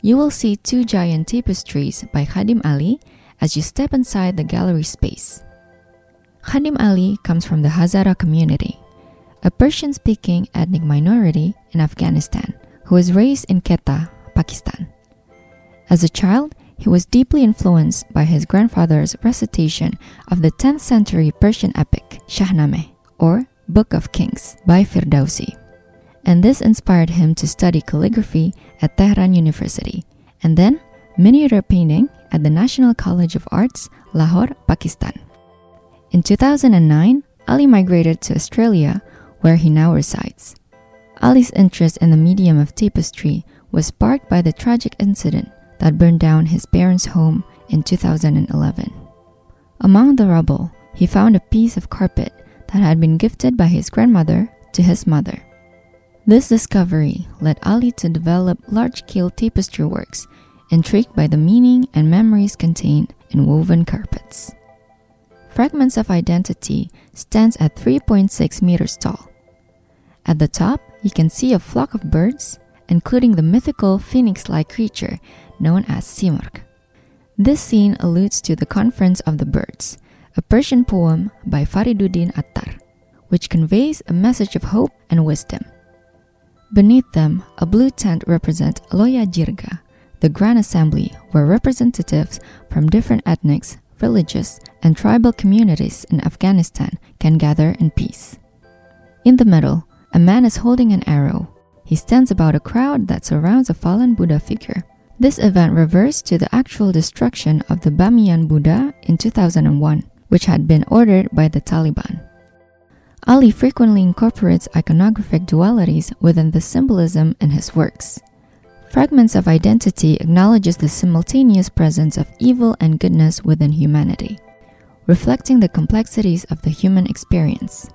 you will see two giant tapestries by Khadim Ali as you step inside the gallery space. Khadim Ali comes from the Hazara community, a Persian-speaking ethnic minority in Afghanistan who was raised in Quetta, Pakistan. As a child, he was deeply influenced by his grandfather's recitation of the 10th century Persian epic Shahnameh, or Book of Kings, by Firdausi. And this inspired him to study calligraphy at Tehran University, and then miniature painting at the National College of Arts, Lahore, Pakistan. In 2009, Ali migrated to Australia, where he now resides. Ali's interest in the medium of tapestry was sparked by the tragic incident that burned down his parents' home in 2011. Among the rubble, he found a piece of carpet that had been gifted by his grandmother to his mother. This discovery led Ali to develop large-scale tapestry works, intrigued by the meaning and memories contained in woven carpets. Fragments of Identity stands at 3.6 meters tall. At the top, you can see a flock of birds, including the mythical phoenix-like creature known as Simurgh. This scene alludes to the Conference of the Birds, a Persian poem by Fariduddin Attar, which conveys a message of hope and wisdom. Beneath them, a blue tent represents Loya Jirga, the Grand Assembly, where representatives from different ethnics, villages, and tribal communities in Afghanistan can gather in peace. In the middle, a man is holding an arrow. He stands about a crowd that surrounds a fallen Buddha figure. This event reversed to the actual destruction of the Bamiyan Buddha in 2001, which had been ordered by the Taliban. Ali frequently incorporates iconographic dualities within the symbolism in his works. Fragments of Identity acknowledges the simultaneous presence of evil and goodness within humanity, reflecting the complexities of the human experience.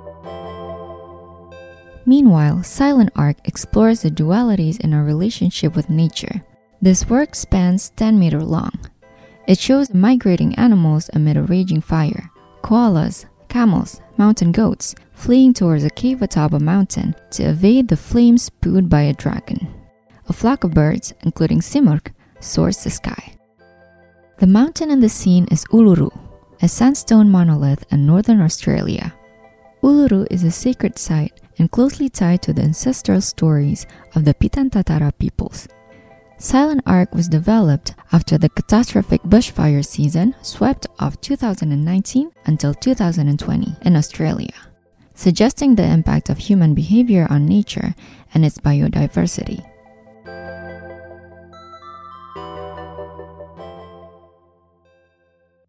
Meanwhile, Silent Arc explores the dualities in our relationship with nature. This work spans 10 meters long. It shows migrating animals amid a raging fire, koalas, camels, mountain goats fleeing towards a cave atop a mountain to evade the flames spewed by a dragon. A flock of birds, including Simurgh, soars the sky. The mountain in the scene is Uluru, a sandstone monolith in northern Australia. Uluru is a sacred site and closely tied to the ancestral stories of the Pitan-Tatara peoples. Silent Arc was developed after the catastrophic bushfire season swept off 2019 until 2020 in Australia, suggesting the impact of human behavior on nature and its biodiversity.